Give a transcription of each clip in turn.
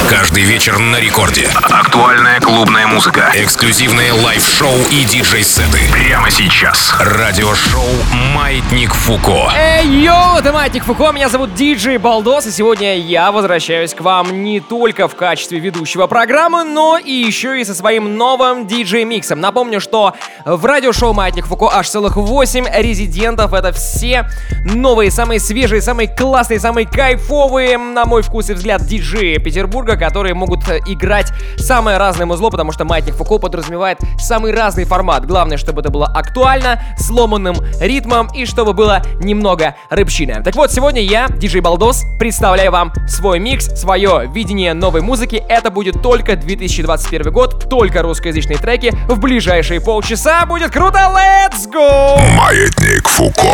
Каждый вечер на рекорде. Актуальная клубная музыка, эксклюзивные лайв-шоу и диджей-сеты. Прямо сейчас. Радиошоу «Маятник Фуко». Эй, йоу, это Маятник Фуко, меня зовут диджей Балдос, и сегодня я возвращаюсь к вам не только в качестве ведущего программы, но и еще и со своим новым диджей-миксом. Напомню, что в радиошоу «Маятник Фуко» аж целых 8 резидентов. Это все новые, самые свежие, самые классные, самые кайфовые, на мой вкус и взгляд, диджеи Петербурга, которые могут играть самое разное музло, потому что «Маятник Фуко» подразумевает самый разный формат. Главное, чтобы это было актуально, с ломаным ритмом и чтобы было немного рыбщины. Так вот, сегодня я, диджей Балдос, представляю вам свой микс, свое видение новой музыки. Это будет только 2021 год, только русскоязычные треки. В ближайшие полчаса будет круто. Let's go! Маятник Фуко.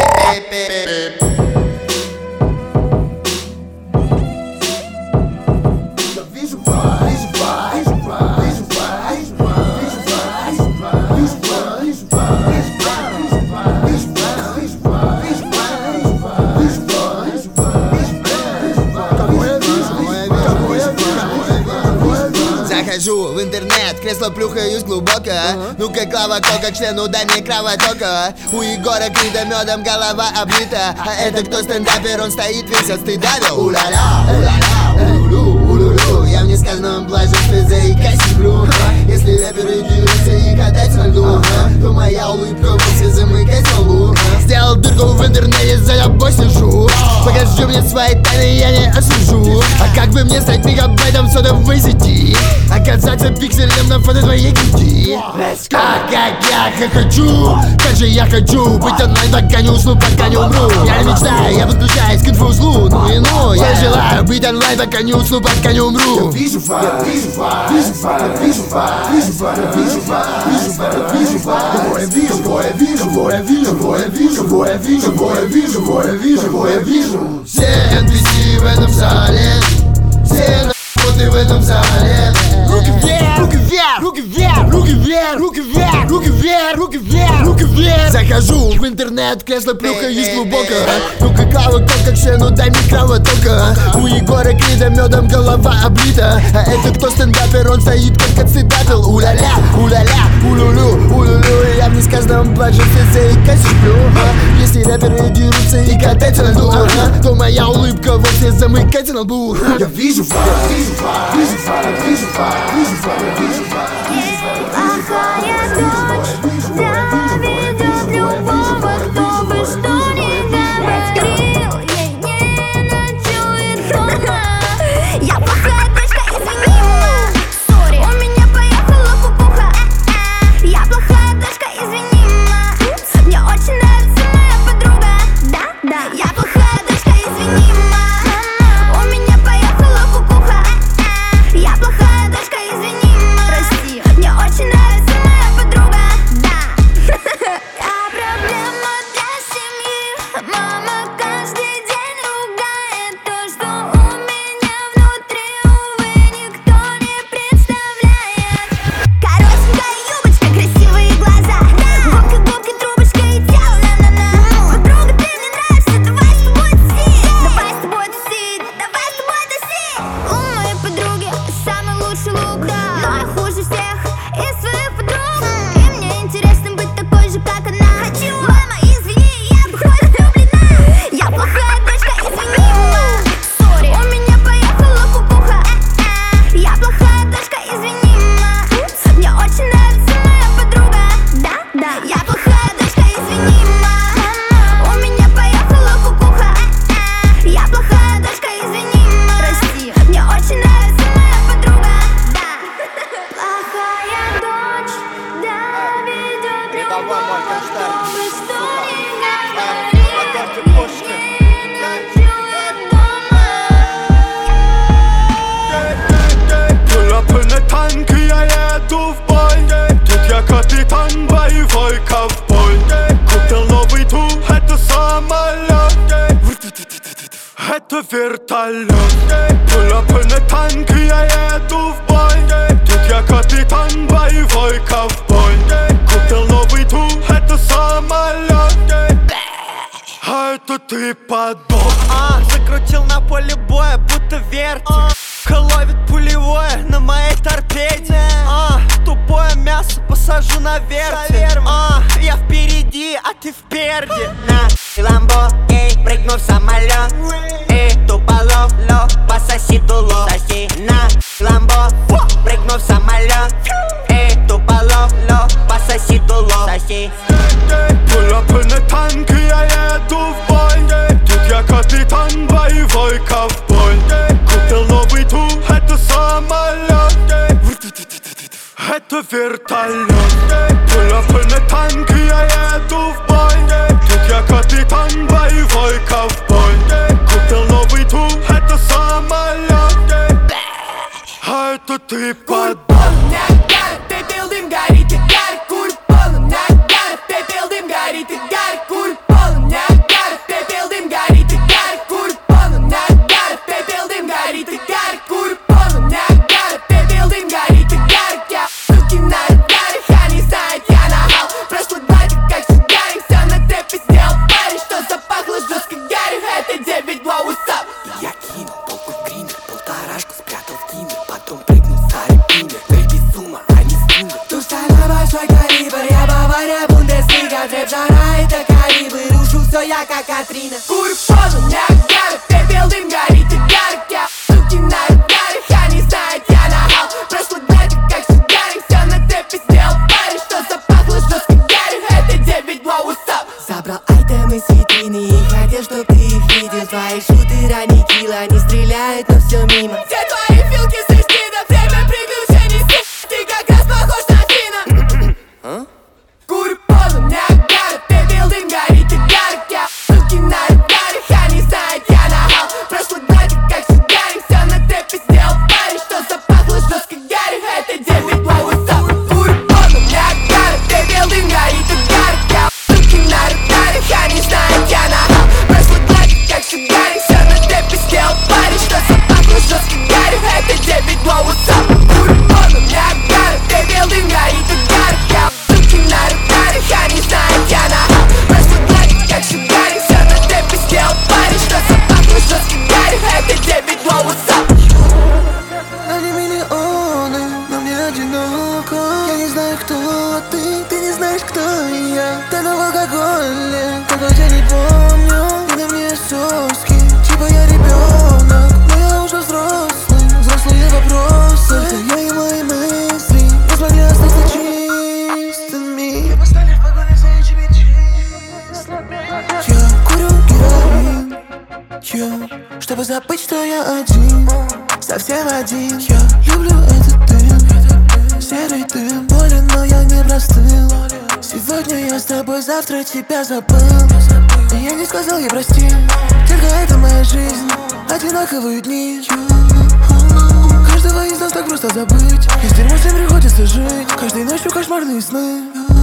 Захожу в интернет, кресло плюхаюсь глубоко. Ну-ка, Клава Кока, к члену дай мне кровотока. У Егора Крида медом голова облита. А это кто стендапер, он стоит весь от стыда. У-ля-ля, у-ля-ля, улю-лю, улю-лю. Я в несказанном блаженстве заикаюсь сплю. Если рэперы дерутся и катаются на льду, то моя улыбка вовсе замыкается в лбу. Сделал дырку в интернете, за тобой сижу. Покажи мне свои тайны, я не осужу. А как бы мне стать мегабайтом сотовой сети? Оказаться пикселем на фото твоей груди. А как я хочу, как же я хочу быть онлайн, пока не усну, пока не умру. Я не мечтаю, я подключаюсь к инфоузлу. Ну и ну, я желаю быть онлайн, пока не усну, пока не умру. Я вижу факт, вижу факт, вижу факт, вижу факт, вижу факт, вижу факт, вижу факт, вижу факт. Кого я вижу, кого я вижу, кого я вижу, кого я вижу, кого я вижу, кого я вижу, кого я вижу, кого я вижу. Все NPC в этом зале, все нахуй в этом зале. Руки вверх, руки вверх, руки вверх, руки вверх, руки вверх, руки вверх, руки вверх, руки вверх. Захожу в интернет, кресло плюхаюсь глубоко. Ну-ка, Клава Кока, к члену дай мне кровотока. У Егора Крида медом голова облита. А это кто стендапер, он стоит как отцедапил. У-ля-ля, у-ля-ля, улю-лю, улю-лю. Я в несказанном блаженстве заикаюсь сплю. Если рэперы дерутся и катаются на льду, то моя улыбка вовсе замыкается на лбу. Я вижу факт, вижу факт, вижу факт, вижу факт. Плохая дочь доведет любого, кто бы что ни говорил. Ей не ночует дома. Я плохая дочка, извини, ма. Сори, у меня поехала кукуха. Я плохая дочка, извини, ма. Мне очень нравится моя подруга. Да, я плохая дочка, извини, ма. У меня поехала кукуха. Я плохая дочка, извини, ма. Прости, мне очень нравится моя подруга. Да. Я проблема для семьи. Мама каждый день ругает то, что у меня внутри, увы, никто не представляет. Коротенькая юбочка, красивые глаза. Губка, трубочка и тело, на-на-на. Подруга, ты мне нравишься, давай с тобой тусить. Давай с тобой тусить, давай с тобой тусить. У моей подруги самый лучший лук, но я хуже всех из своих подруг. И мне интересно быть такой же, как она. Хочу, мама, извини, я походу влюблена. Я плохая дочка, извини, ма. Сори, у меня поехала кукуха. Я плохая дочка, извини, ма. Мне очень нравится моя подруга. Да, я плохая дочка, извини, ма. У меня поехала кукуха. Я плохая дочка, извини, ма. Прости, мне очень нравится моя подруга. Да. Плохая дочь доведет любого, кто бы что ни говорил. Ей не ночует дома. Pull up in a tank, я еду в бой. Тут я капитан, боевой ковбой. Купил новый тур, это самолет. Это вертолет. Pull up in a tank, я еду в бой. Тут я капитан, боевой ковбой. Купил новый тур, это самолет. А это ты подбор. Закрутил на поле боя, будто вертик. Ловит пулевой. терпеть. Тупое мясо посажу на вертель. Я впереди, а ты впереди. На ламбо, эй, прыгну в самолет. Туполов, пососи дуло. Соси на ламбо, прыгну в самолет. Туполов, пососи дуло. Соси. Pull up in a tank, я еду в бой. Тут я капитан, боевой ковбой. Купил новый тур, это самолет. Это вертолет. Pull up in a tank, я еду в бой. Тут я капитан, боевой ковбой. Купил новый тур, это самолет. А это ты подбой. Пепел, дым, горит и гарь, курь полон нагар. Пепел, дым, горит и гарь, курь полон нагар. Пепел, дым, горит и гарь, курь полон нагар. Пепел, дым, горит и гарь, курь полон нагар. Пепел, дым, горит и гарь. Я суки на радаре, они знают, я нагал. Прошлый батик, как сигарик, все на цепи сделал парень. Что запахло жестко гарью, это 9 blow, what's up? Я кинул толку в гриндер, полторашку спрятал в киндер. Потом прыгнул в старый пиндер, бэйби с ума, а не с киндер. Тушана большой калибр, я Бавария, Бундеслига. Джеб, жара, это калибр, рушу все я как Катрина. Курь полон нагар, пепел, дым, горит и гарь. Я суки на радаре, они знают, я нагал. Прошлый батик, как сигарик, все на цепи сделал парень. Что запахло жестко гарью, это 9 blow, what's up? Забрал айтемы с витрины и хотел, чтоб ты их видел. Твои шутеры анихила, они стреляют, но все мимо. Все твои филки сочти, до время приключений, ты как раз похож на Фина. Курь полон нагар, пепел, дым, горит и гарь. Я суки на радаре, они знают, я нагал. Прошлый батик, как сигарик, все на цепи сделал парень. Что запахло жестко гарью, это 9 blow, what's up? Курь полон нагар, пепел, дым, горит и гарь. Я суки на радаре, они знают, я нагал. Прошлый батик, как сигарик, все на цепи сделал парень. Что запахло жестко гарью, это 9 blow, what's up? Курь полон нагар, пепел, дым, горит и гарь. Я суки на радаре, они знают, я нагал. Прошлый батик, как сигарик, все на цепи сделал парень. Что запахло жестко гарью, это 9 blow, what's up? Они миллионы, но мне одиноко. Я не знаю, кто ты не знаешь, кто я. Тону в алкоголе, такой я не помню. И на мне соски, типа я ребенок, но я уже взрослый. Взрослые вопросы, только я и мои мысли не смогли остаться чистыми. Мы стали в погоне за этими числами. Я курю героин, чтобы забыть, что я один, совсем один. Я люблю этот дым, серый дым. Болен, но я не простыл. Сегодня я с тобой, завтра тебя забыл. И я не сказал ей прости, только это моя жизнь, одинаковые дни. Каждого из нас так просто забыть, и с дерьмом всем приходится жить. Каждой ночью кошмарные сны.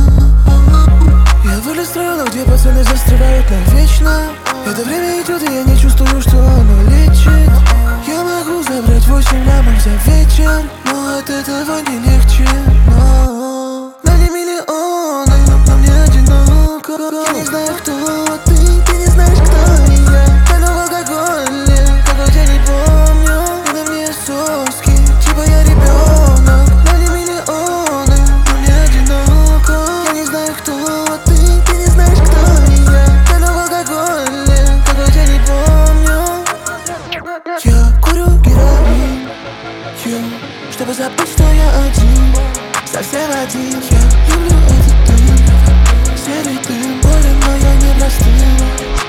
Я вылез с района, где пацаны застревают навечно. Это время идет, и я не чувствую, что оно лечит. Я могу забрать 8 лямов за вечер, но от этого не легче. На мне миллионы, но мне одиноко. Я не знаю, кто ты не знаешь, кто я. Тону в алкоголе, такой я не помню. И на мне соски, типа я ребенок. На мне миллионы, но мне одиноко. Я не знаю, кто ты не знаешь, кто я. Тону в алкоголе, такой я не помню. Я курю героин, чтобы забыть, что я один, совсем один. Я люблю этот дым, серый дым. Болен, но я не простыл.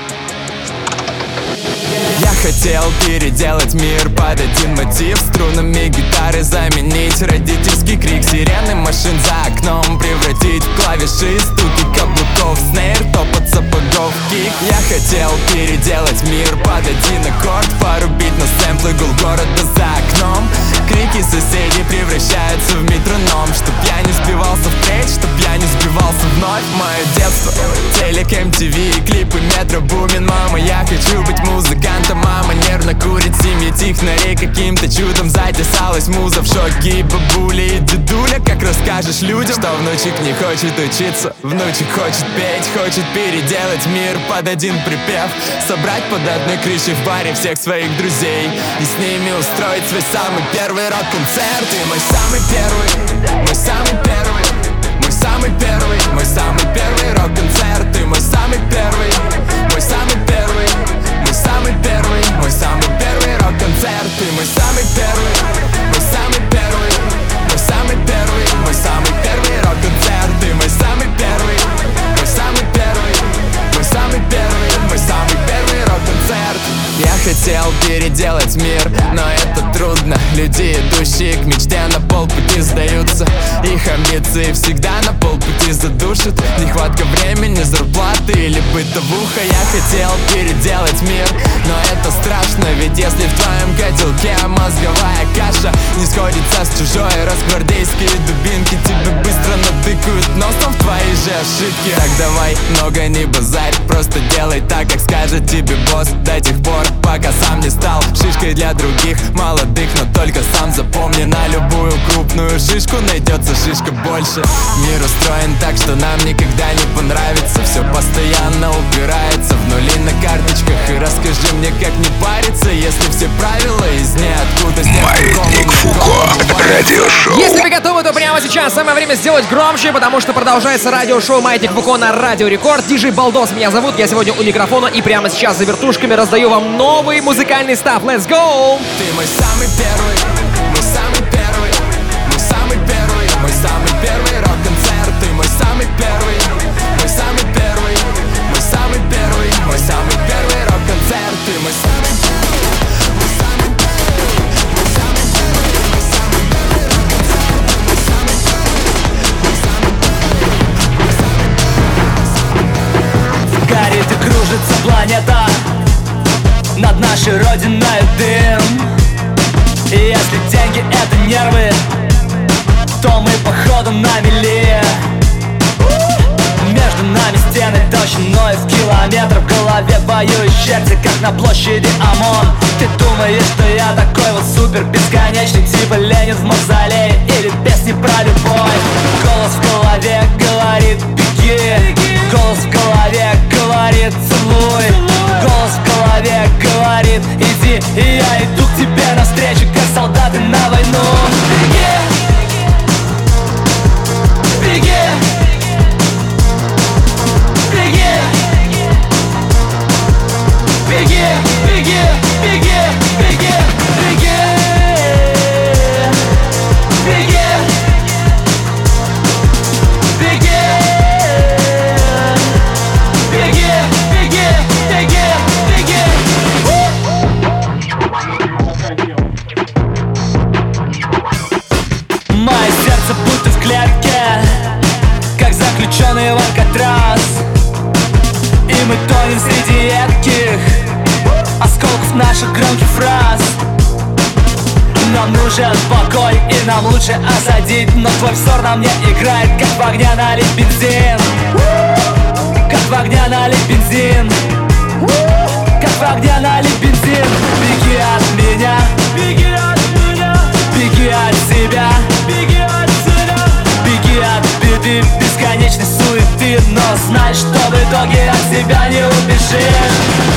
Я хотел переделать мир под один мотив. Струнами гитары заменить родительский крик. Сирены машин за окном превратить в клавиши. Стуки каблуков, снейр, топот сапогов, кик. Я хотел переделать мир под один аккорд. Порубить на сэмплы гул города за окном. Крики соседей превращаются в метроном. Чтоб я не сбивался впредь, чтоб я не сбивался вновь. Мое детство, телек, MTV, клипы, метро, бумин. Мама, я хочу быть музыкантом. Мама нервно курит, семья технарей. Каким-то чудом затесалась муза в шоке. И бабуля, и дедуля, как расскажешь людям, что внучек не хочет учиться, внучек хочет петь. Хочет переделать мир под один припев. Собрать под одной крышей в баре всех своих друзей и с ними устроить свой самый первый рок-концерт. Ты мой самый первый, мой самый первый, мой самый первый, мой самый первый рок-концерт. Ты мой самый первый, мой самый первый, мой самый первый, мой самый первый рок-концерт. Ты мой самый первый, мой самый первый, мой самый первый, мой самый первый рок-концерт. Ты мой самый первый, мой самый первый, мой самый первый, мой самый первый рок-концерт. Я хотел переделать мир, но это трудно. Люди, идущие к мечте, на полпути сдаются. Их амбиции всегда на полпути задушат. Нехватка времени, зарплаты или бытовуха. Я хотел переделать мир, но это страшно. Ведь если в твоем котелке мозговая каша не сходится с чужой, росгвардейские дубинки тебе быстро натыкают носом в твои же ошибки. Так давай, много не базарь, просто делай так, как скажет тебе босс. До тех пор, пока сам не стал шишкой для других молодых. Но только сам запомни, на любую крупную шишку найдется шишка больше. Мир устроен так, что нам никогда не понравится. Все постоянно упирается в нули на карточках. И расскажи мне, как не париться, если все правила из ниоткуда. Маятник Фуко, радиошоу. Если вы готовы, то прямо сейчас самое время сделать громче, потому что продолжается радиошоу «Маятник Фуко» на Радио Рекорд. Диджей Балдос меня зовут, я сегодня у микрофона, и прямо сейчас за вертушками раздаю вам новый музыкальный став. Let's go! Ты мой самый первый, мой самый первый, мой самый первый, мой самый первый рок-концерт. Ты мой самый первый, мой самый первый, мой самый первый, мой самый первый рок-концерт. Ты мой самый первый, мой самый первый, мой самый первый, мой самый первый рок-концерт. Мой самый первый, мой самый первый, мой самый первый. Горит и кружится планета, над нашей родиной дым. И если деньги это нервы, то мы походу на мели. Между нами стены толщиной в километр. В голове воюет черти, как на площади ОМОН. Ты думаешь, что я такой вот супер бесконечный, типа Ленин в мавзолее или песни про любовь. Голос в голове говорит беги, голос в голове говорит целуй, голос в голове говорит иди, и я иду к тебе навстречу, как солдаты на войну. Беги, беги, беги, беги, беги, беги, беги, беги, беги, беги, беги, беги, беги, беги. Мое сердце будто в клетке, как заключенный в Алькатрас. И мы тонем среди едких осколков наших громких фраз. Нам нужен покой, и нам лучше осадить. Но твой взор на мне играет, как в огня налить бензин. Как в огня налить бензин. Как в огня налить бензин. Беги от меня, беги от меня, беги от себя, беги от себя, беги от беды, бесконечной суеты. Но знай, что в итоге от себя не убежишь.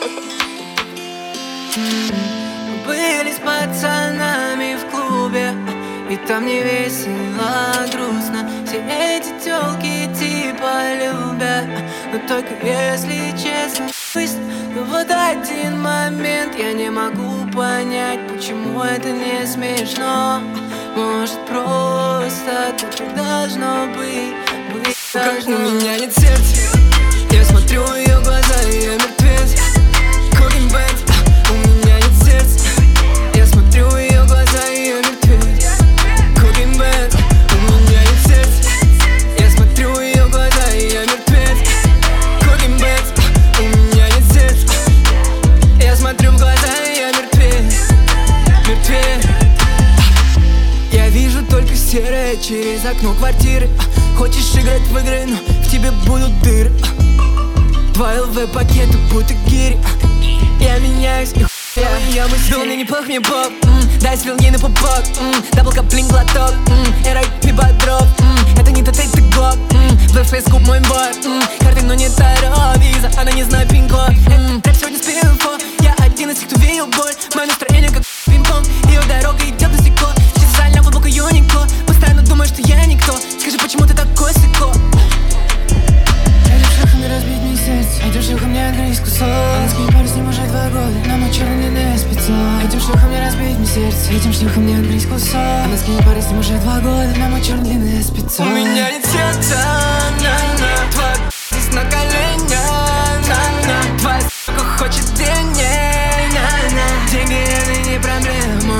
Были с пацанами в клубе, и там не весело, грустно. Все эти тёлки типа любят, но только если честно. Но вот один момент я не могу понять, почему это не смешно. Может, просто так и должно быть. Как у меня нет сердца, я смотрю в её глаза, и я мертвец. Cooking band, у меня нет сердца, я смотрю в её глаза, и я мертвец. Cooking band, у меня нет сердца, я смотрю в её глаза, и я мертвец. Cooking band, у меня нет сердца, я смотрю в глаза, и я мертвец. Мертвец. Я вижу только серое через окно квартиры. Хочешь играть в игры, но в тебе будут дыры. Два ЛВ-пакета, будто гири. Я меняюсь и я мыслю, мне неплох, мне поп. Дай свилги на пупок. Дабл каплинг, глоток. Эрай, пибодров. Это не тот, это глок. ВФС, куб, мой бой. Карты, но не таро, виза. Она не знает пин-код. Рэп сегодня с пин-инфо. Я один из тех, кто видел боль. Мое настроение как пинг-понг. Ее дорога идет на стекло. Специально глубоко юникло. Постоянно думаю, что я никто. Скажи, почему ты такой сыкло? Этим шагом не разбить мне сердце. Этим шагом не открыть кусок. Она с ней пару с ним уже 2 года. Но мой черный длинный спецом. Этим шагом не разбить мне сердце. Этим шагом не открыть кусок. Она с ней пару с ним уже 2 года. Но мой черный длинный спецом. У меня нет сердца, на-на. Твоя здесь на коленях, на-на. Твоя сука хочет денег, на-на. Деньги это не проблема.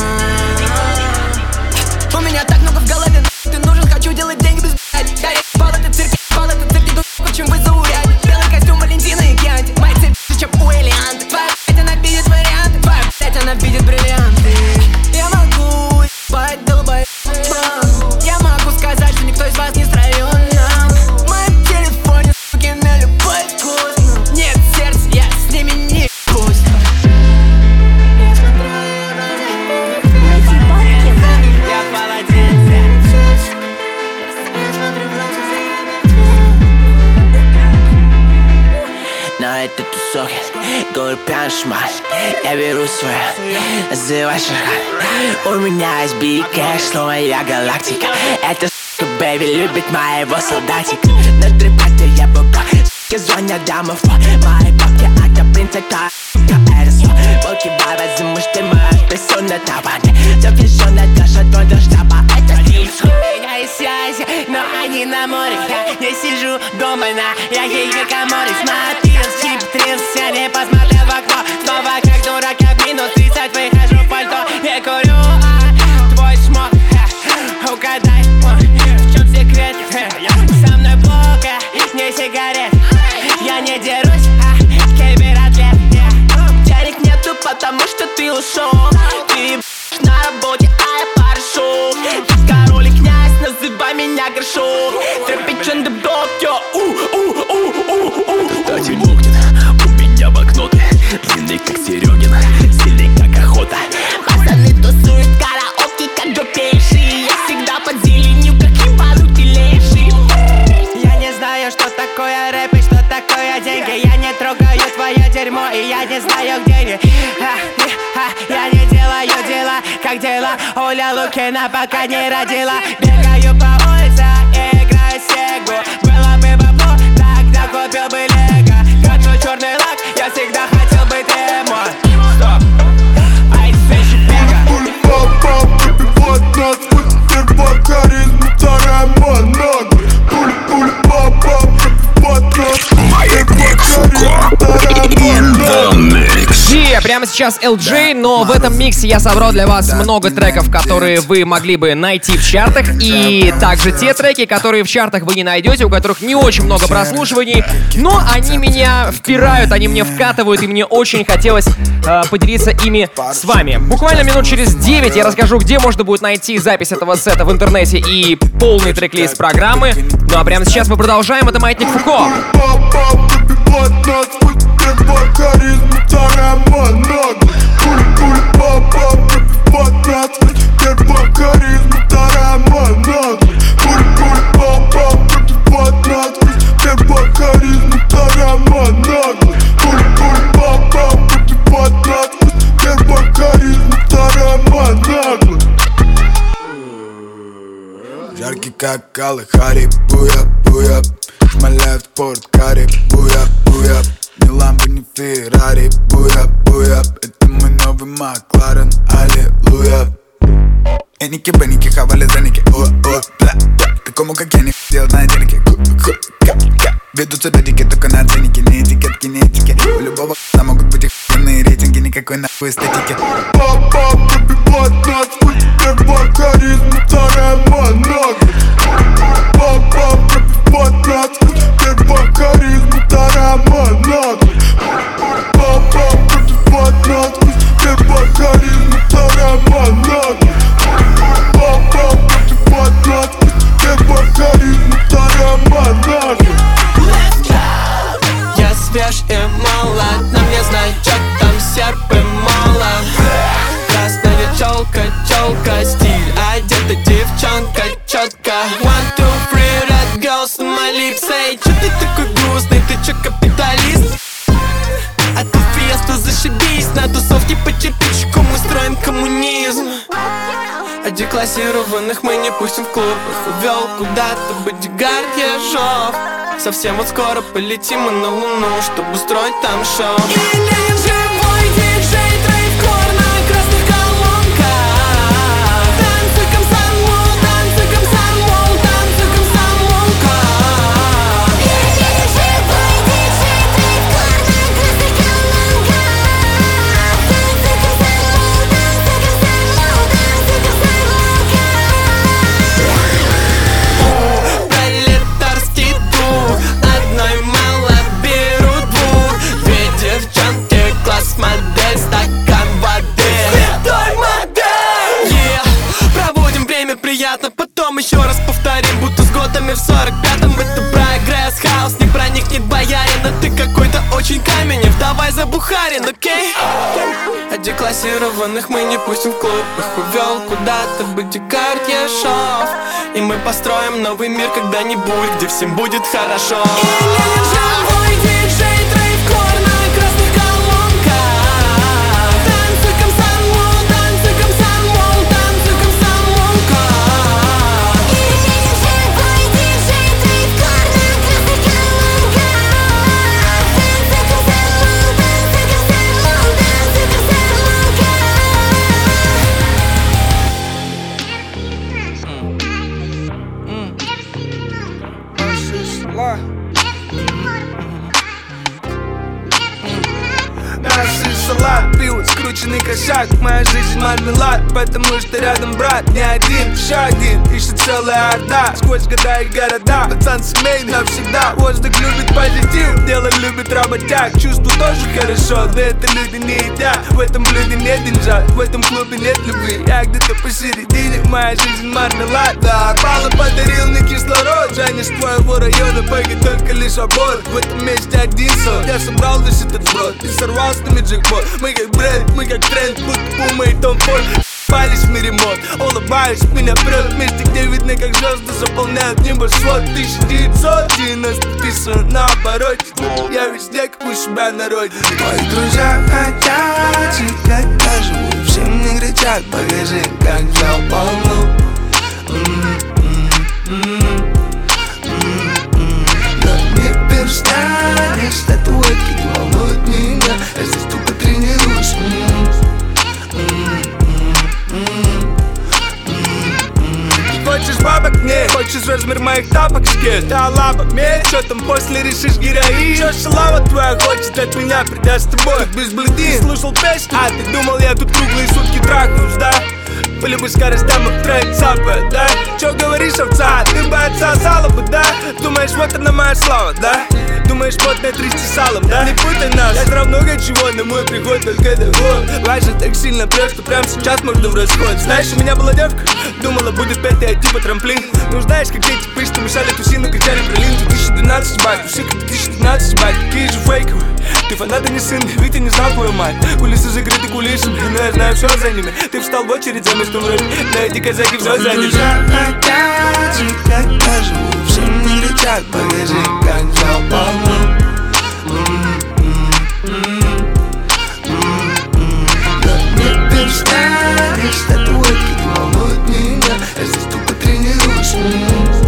У меня так много в голове, ты нужен, хочу делать деньги без блядь. Да я бал это цирк, иду, чем вы зауряд. Белый костюм Валентина и Кьянти. Мои цепи, чем у Элианты. Твоя блядь, она видит варианты. Твоя блядь, она видит бриллианты. Я могу ебать, долбоеб. Я могу сказать, что никто из вас не строен нам. В моем телефоне, суки, на любой вкус. Нет сердца, я с ними не пусть. На этот тусок, говорю пьяный шмаль. Я беру свое, называй шаган. У меня есть big cash, словно я галактика. Эта сука, бэйби, любит моего солдатика. На трипате я бабак, суки звонят домофон. Мои бабки, это принц, это сука, это волки бабят, за муж, ты моя песо на табане. Запрещенная Даша, твой до штаба, это типс. У меня есть связи, но они на море. Я не сижу дома на яхе Каморе. Смотрел чип, трился, не посмотрел в окно. Снова как дурак, я в минус 30 выхожу в пальто. Не курю, твой шмот, угадай, в чем секрет? Со мной плохо, не сигарет. Я не дерусь, кибератлет. Денег нету, потому что ты ушел. Ты на работе, а я парашют. Король и князь, называй меня горшок. Трэпичен дебдок, йо, Дайте Богдин, у меня блокноты. Длинный как Серегин, сильный как охота. Пацаны тусуют караоке, как допейшие. Я всегда под зеленью, как ебанутый лейший. Я не знаю, что такое рэп и что такое деньги. Я не трогаю твое дерьмо, и я не знаю, где они. Я не делаю дела, как дела Оля Лукина, пока не родила. Бегаю по улице и играю сегу. Было бы бабло, тогда купил бы лего. Хочу черный лак, я всегда хотел быть эмой. Стоп, ай, свечи бега. Пуль-пап-пап, выпивать нас, путь по харизму, вторая монога. Пуль-пуль-пап-пап, выпивать нас, Маятник Фуко. Прямо сейчас LJ, но в этом миксе я собрал для вас много треков, которые вы могли бы найти в чартах, и также те треки, которые в чартах вы не найдете, у которых не очень много прослушиваний, но они меня впирают, они мне вкатывают, и мне очень хотелось поделиться ими с вами. Буквально минут через 9 я расскажу, где можно будет найти запись этого сета в интернете и полный трек-лист программы. Ну а прямо сейчас мы продолжаем, это Маятник Фуко. Харизму, вторая монога. Пуль-пуль-пап-пап, выпивать нас, первая харизму, вторая монога. Пуль-пуль-пап-пап, выпивать нас, первая харизму, вторая монога. Пуль-пуль-пап-пап, как Калахари. Буя, буя, шмаляют в порт кари. Буя, буя, ни ламбо, ни Феррари. Буя, буя, это мой новый Макларен. Аллилуйя. Эники, беники, хавали заники. О, о, бля, бля. Ты кому как я не делать на денег. Ведутся додики, только на ценники. Не этикетки, не этики. У любого х**а могут быть охуенные рейтинги. Никакой нахуй эстетики. Папа, прибивать нас, путь первая харизма, вторая монога. Папа, прибивать нас, путь первая харизма, вторая монога. Папа, прибивать нас, путь первая харизма, вторая монога. Папа, прибивать нас, путь первая харизма, вторая монога. Я свеж и молод, на мне значок, там серп и молот. Красная челка, стиль, одета девчонка четко. 1, 2, 3, red girls on my lips. Эй, чё ты такой грустный, ты чё капиталист? А ты фиеста, зашибись, на тусовке по кирпичику мы строим коммунизм. А деклассированных мы не пустим в клуб. Их увел куда-то бодигард Ежов. Совсем вот скоро полетим мы на Луну, чтобы устроить там шоу. Или живой диджей, драйв-кор на красных колонках. Танцы комсомол, танцы комсомол, танцы комсомолка. Или живой диджей, драйв-кор на красных колонках. Танцы комсомол, танцы комсомол, танцы комсомолка. Пролетарский дух, одной мало берут двух. Две девчонки, класс модель, стакан воды. Святой модель! Проводим время приятно, потом еще раз повторим, будто с годами в 45-м. Это прогресс, хаос не проникнет боярин. А ты какой-то очень каменев, давай забухарин, окей? А деклассированных мы не пустим в клуб. Их увел куда-то бодигард Ежов. И мы построим новый мир когда-нибудь, где всем будет хорошо. Или живой диджей, драйв-кор на красных колонках. Танцы комсомол, танцы комсомол, танцы комсомолка. Или живой диджей, драйв-кор на красных колонках. Танцы комсомол, танцы комсомол, танцы комсомолка. Наши салат, пиво, скрученный кошак. Моя жизнь мармелад, потому что рядом брат. Не один, еще один, ищет целая орда. Сквозь года и города, пацан семейный навсегда. Воздух любит позитив, дело любит работяг. Чувство тоже хорошо, но это люди не едят. В этом блюде нет деньжат, в этом клубе нет любви. Я где-то посередине, моя жизнь мармелад. Да, Пала подарил мне кислород. Жаня с твоего района, пойги только лишь аборт. В этом месте один сон, я собрал весь этот сброд и сорвал с нами джекпот. Мы как бренд, мы как тренд, будто Пума и Том Форд. Пались в мире мод, улыбаюсь, меня прет в месте, где видно, как звезды заполняют небосвод. 1990 писано на обороте. Я везде, как у себя на родине. Твои друзья хотят жить, как я живу. Все мне кричат, покажи, как взял полну. Но не перестанешь, статуэтки не волнуют меня. Я здесь только тренируюсь. Хочешь бабок? Нет. Хочешь размер моих тапок? Скет. Да лапок? Нет. Чё там после решишь героин? Чё шалава твоя хочет от меня придя с тобой? Тут без бледин. Слушал песню? А ты думал, я тут круглые сутки трахнусь, да? По любой скоростям и трек цапает, да? Чё говоришь, овца? Ты бы отсосала бы, да? Думаешь, вот она моя слава, да? Думаешь, потное трясти салом, да? Не путай нас, я все много чего, но мой приход только доход. Важно так сильно прет, что прямо сейчас можно в расход. Знаешь, у меня была девка, думала, будет пятая типа трамплин. Ну знаешь, как эти пышь, что мешали тусину, кричали про лин. 2012 бать, усы как 2012 бать, какие же фейковые. Ты фанат, а не сын, ведь я не знал твою мать. Кулисы закрыты кулисами, но я знаю все за ними. Ты встал в очередь за местом вроде, но эти казаки все заняли. Хотят жить, как я живу. Все мне кричат, покажи, как взял полну. Но не перестанешь, статуэтки не волнуют меня. Я здесь только тренируюсь.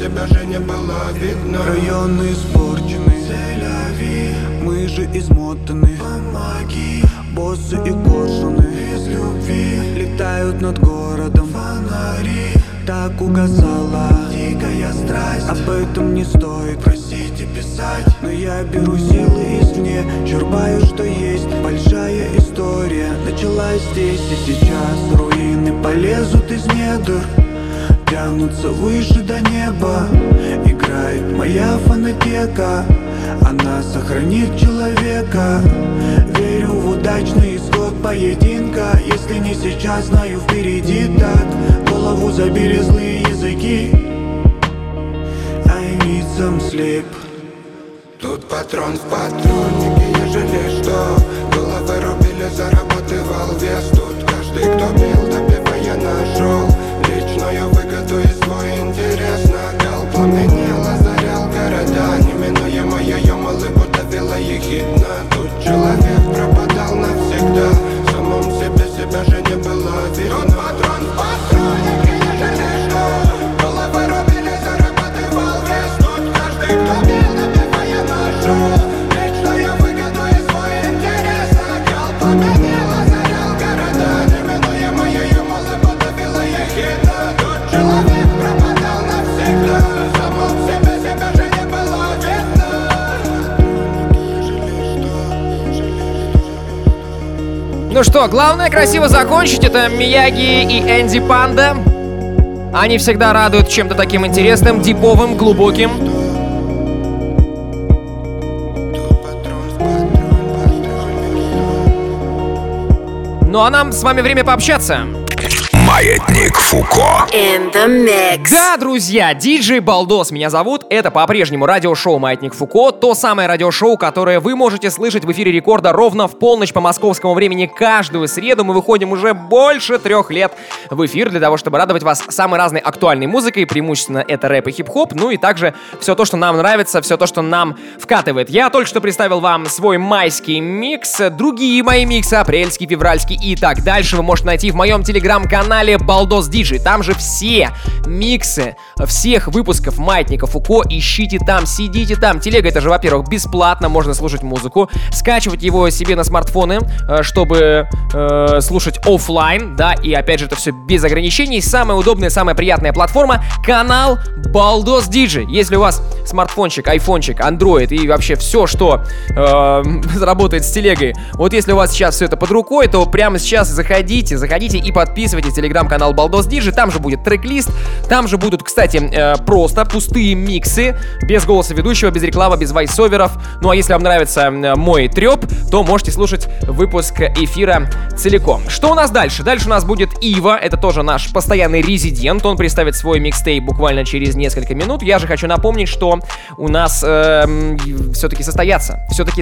себя же не было видно. Районы испорчены, мы же измотаны. Помоги, боссы и коршуны без любви летают над городом. Фонари, так угасала дикая страсть. Об этом не стоит просить и писать, но я беру силы извне, черпаю, что есть. Большая история началась здесь и сейчас. Руины полезут из недр, тянутся выше до неба. Играет моя фонотека, она сохранит человека. Верю в удачный исход поединка. Если не сейчас, знаю, впереди так. Голову забили злые языки. I need some sleep. Тут патрон в патроннике, я жалею, что головы рубили, зарабатывал вес. Тут каждый, кто бил, добивая, нашел личную выгоду и свой интерес. Нагал, пламенел, озарял города. Неминуемо ее улыбку давила ехидна. Тут человек пропадал навсегда, в самом себе себя же не было видно. Тут патрон в патроннике, я жалею, что головы рубили, зарабатывал вес. Тут каждый, кто бил, добивая, нашел личную выгоду и свой интерес. Нагал, пламенел, озарял города. Неминуемо ее улыбку давила ехидна. Тут человек пропадал навсегда, в самом себе себя же не было видно. Ну что, главное красиво закончить. Это Мияги и Энди Панда. Они всегда радуют чем-то таким интересным, диповым, глубоким. Ну а нам с вами время пообщаться. Маятник Фуко. In the mix. Да, друзья, диджей Балдос меня зовут. Это по-прежнему радиошоу «Маятник Фуко». То самое радиошоу, которое вы можете слышать в эфире Рекорда ровно в полночь по московскому времени каждую среду. Мы выходим уже больше 3 лет в эфир для того, чтобы радовать вас самой разной актуальной музыкой. Преимущественно это рэп и хип-хоп. Ну и также все то, что нам нравится, все то, что нам вкатывает. Я только что представил вам свой майский микс. Другие мои миксы, апрельский, февральский и так дальше, вы можете найти в моем телеграм-канале Балдос Диджей. Там же все миксы всех выпусков Маятника Фуко. Ищите там, сидите там. Телега — это же, во-первых, бесплатно, можно слушать музыку, скачивать его себе на смартфоны, чтобы слушать офлайн, да, и опять же это все без ограничений. Самая удобная, самая приятная платформа — канал Балдос Диджей. Если у вас смартфончик, айфончик, андроид и вообще все, что работает с телегой, вот если у вас сейчас все это под рукой, то прямо сейчас заходите и подписывайтесь на телеграм-канал Балдос Диджей. Там же будет трек-лист, там же будут, кстати, просто пустые миксы, без голоса ведущего, без рекламы, без войсоверов. Ну а если вам нравится мой треп, то можете слушать выпуск эфира целиком. Что у нас дальше? Дальше у нас будет Ива, это тоже наш постоянный резидент. Он представит свой микстейп буквально через несколько минут. Я же хочу напомнить, что у нас все-таки состоятся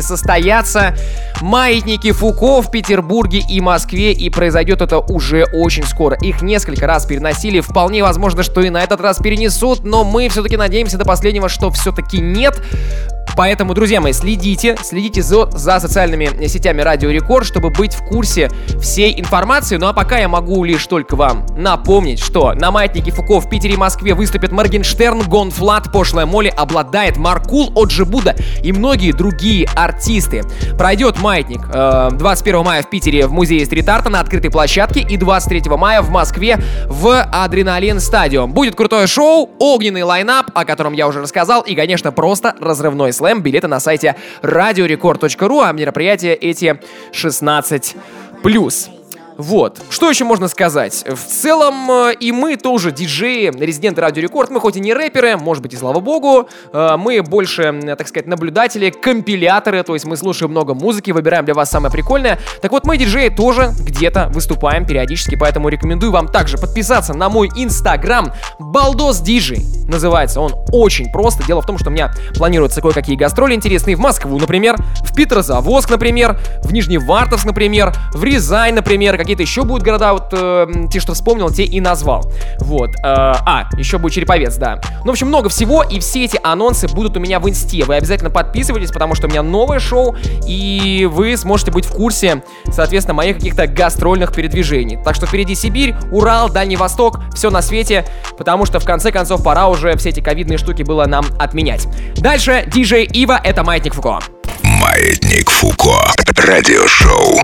Маятники Фуко в Петербурге и Москве, и произойдет это уже очень скоро. Их несколько раз переносили, вполне возможно, что и на этот раз перенесут, но мы все-таки надеемся до последнего, что все-таки нет. Поэтому, друзья мои, следите за социальными сетями Радио Рекорд, чтобы быть в курсе всей информации. Ну а пока я могу лишь только вам напомнить, что на Маятнике Фуко в Питере и Москве выступят Моргенштерн, Гон Флат, Пошлая Молли, Обладает, Маркул, Оджи Буда и многие другие артисты. Пройдет Маятник 21 мая в Питере в музее стрит-арта на открытой площадке и 23 мая в Москве в Адреналин Стадиум. Будет крутое шоу, огненный лайнап, о котором я уже рассказал, и, конечно, просто разрывной слэм. Билеты на сайте radiorecord.ru, а мероприятия эти 16+. Вот. Что еще можно сказать? В целом, и мы тоже диджеи, резиденты Радио Рекорд. Мы хоть и не рэперы, может быть, и слава богу, мы больше, так сказать, наблюдатели, компиляторы, то есть мы слушаем много музыки, выбираем для вас самое прикольное. Так вот, мы, диджеи, тоже где-то выступаем периодически, поэтому рекомендую вам также подписаться на мой инстаграм Балдос Диджей. Называется он очень просто. Дело в том, что у меня планируются кое-какие гастроли интересные в Москву, например, в Петрозаводск, например, в Нижневартовск, например, в Рязань, например, какие-то еще будут города, вот те, что вспомнил, те и назвал. Вот. Еще будет Череповец, да. Ну, в общем, много всего, и все эти анонсы будут у меня в инсте. Вы обязательно подписывайтесь, потому что у меня новое шоу, и вы сможете быть в курсе, соответственно, моих каких-то гастрольных передвижений. Так что впереди Сибирь, Урал, Дальний Восток, все на свете, потому что, в конце концов, пора уже все эти ковидные штуки было нам отменять. Дальше диджей Ива, это Маятник Фуко. Маятник Фуко. Радиошоу.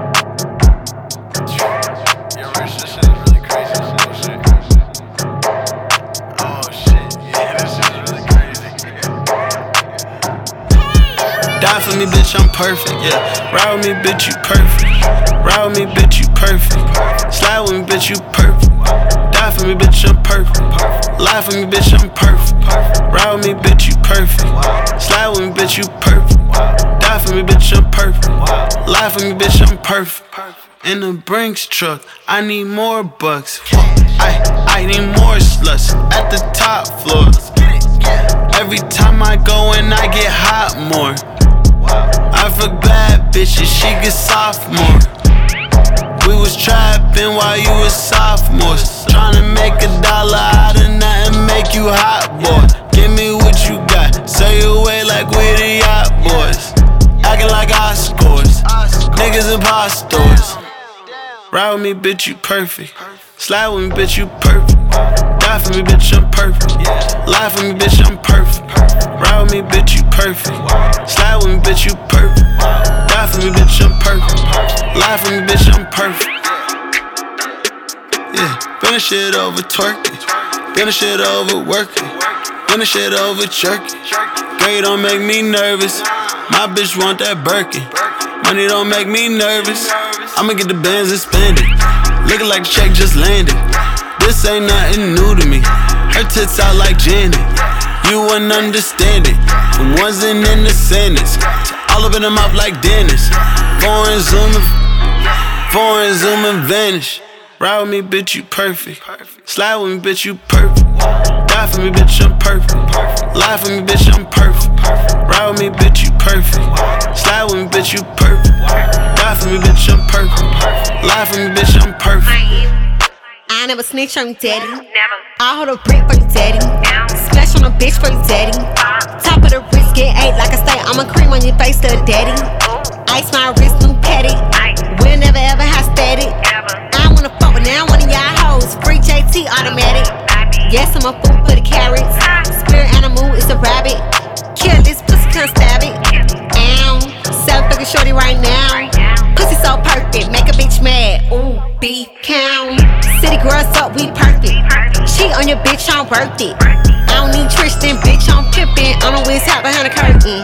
Die for me, bitch, I'm perfect, yeah. Ride with me, bitch, you perfect. Ride with me, bitch, you perfect. Slide with me, bitch, you perfect. Die for me, bitch, I'm perfect. Lie for me, bitch, I'm perfect. Ride with me, bitch, you perfect. Slide with me, bitch, you perfect. Die for me, bitch, I'm perfect. Lie for me, bitch, I'm perfect. In the Brinks truck, I need more bucks. I need more sluts at the top floor. Every time I go in, I get hot more. I fuck bad bitches, she get sophomore. We was trapping while you was sophomores. Tryna make $1 out of nothing, make you hot, boy. Give me what you got, say you away like we the yacht boys. Acting like I scores, niggas impostors. Ride with me, bitch, you perfect. Slide with me, bitch, you perfect. Die for me, bitch, I'm perfect. Lie for me, bitch, I'm perfect. Ride with me, bitch, you perfect. Slide with me, bitch, you perfect. Die for me, bitch, I'm perfect. Lie for me, bitch, I'm perfect. Yeah, been a shit over twerking. Been a shit over working. Been a shit over jerking. Girl, you don't make me nervous. My bitch want that Birkin. Money don't make me nervous. I'ma get the bands and spend it. Looking like the check just landed. This ain't nothing new to me. Her tits out like Janet. You wouldn't understand it. From wasn't in the sentence to all up in the mouth like Dennis. Foreign zooming, vanish. Ride with me, bitch, you perfect. Slide with me, bitch, you perfect. Die for me, bitch, I'm perfect. Lie for me, bitch, I'm perfect. Ride with me, bitch, you perfect. Slide with me, bitch, you perfect. Die for me, bitch, I'm perfect. Lie for me, bitch, I'm perfect. I never snitch on you, daddy. I hold a brick for you, daddy. Splash on a bitch for you, daddy. Top of the wrist, get ate like I stay. I'ma cream on your face, little daddy. Ice my wrist, new petty. We'll never ever have static. I wanna fuck with now one of y'all hoes. Free JT automatic. Yes, I'm a fool for the carrots. Spirit animal is a rabbit. Kill this pussy, can't stab it. Ow, 7-figure shorty right now. Pussy so perfect, make a bitch mad. Ooh, beef count. City girls up, we perfect. Cheat on your bitch, I'm worth it. I don't need Tristan, bitch, I'm pimpin'. I'm a whiz out behind the curtain.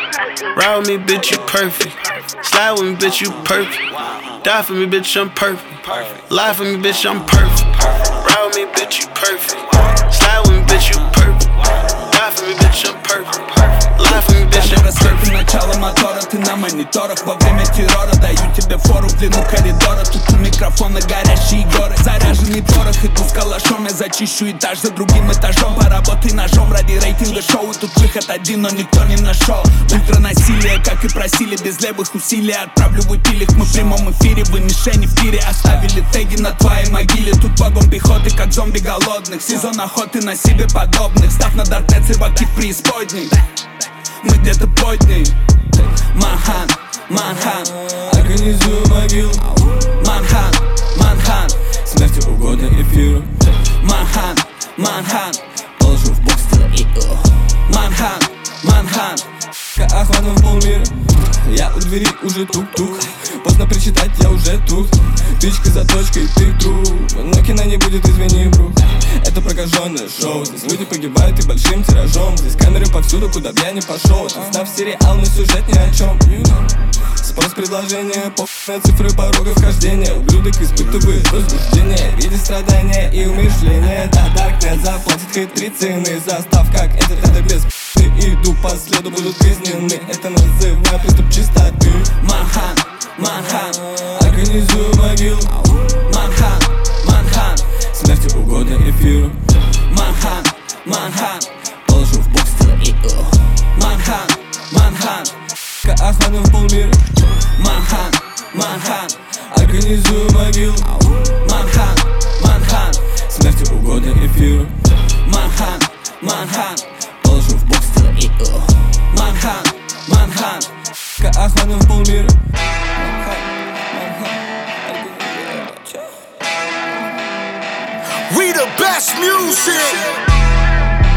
Ride with me, bitch, you perfect. Slide with me, bitch, you perfect. Die for me, bitch, I'm perfect. Lie for me, bitch, I'm perfect. Ride with me, bitch, you perfect. Slide with me, bitch, you perfect. Die for me, bitch, I'm perfect. Lie for me, bitch, I'm perfect. Начало мотора, ты на мониторах. Во время террора даю тебе фору в длину коридора. Тут у микрофона горящие горы. Заряженный порох, иду с калашом. Я зачищу этаж за другим этажом. Поработай ножом ради рейтинга шоу. Тут выход один, но никто не нашел. Ультранасилие, как и просили, без левых усилий. Отправлю в эпилик, мы в прямом эфире. Вы мишени в тире, оставили теги на твоей могиле. Тут вагон пехоты, как зомби голодных. Сезон охоты на себе подобных. Став на даркнет, рыбаки в преисподней. Мы где-то под ней. Манхан, Манхан, организую могилу. Манхан, Манхан, смерти угодно эфиру. Манхан, Манхан, положу в бокс игру. Манхан, Манхан, охватом в полмира. Я у двери уже тук-тук. Поздно причитать, я уже тут. Тычка за точкой, ты труп. Но кино не будет, извини, бро. Это прокаженное шоу. Здесь люди погибают и большим тиражом. Здесь камеры повсюду, куда б я не пошел. Тут снав сериал, но сюжет ни о чем. Спрос предложения, на цифры порога вхождения. Ублюдок испытывает возбуждение в виде страдания и умершления. Да, Даркнет заплатит хитри цены за став, как это без иду по следу, будут казнены. Это называю приступ чистоты. Манхан, Манхан, организую могилу. Манхан, Манхан, смерти угодно эфиру. Манхан, Манхан, положу в бокс игру. Манхан, Манхан, охватом в полмира. Манхан, Манхан, организую могилу. Манхан, Манхан, смерти угодно эфиру. Манхан, Манхан, положу в бокс игру. Манхан, Манхан, охватом в полмира. We the best music.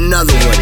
Another one.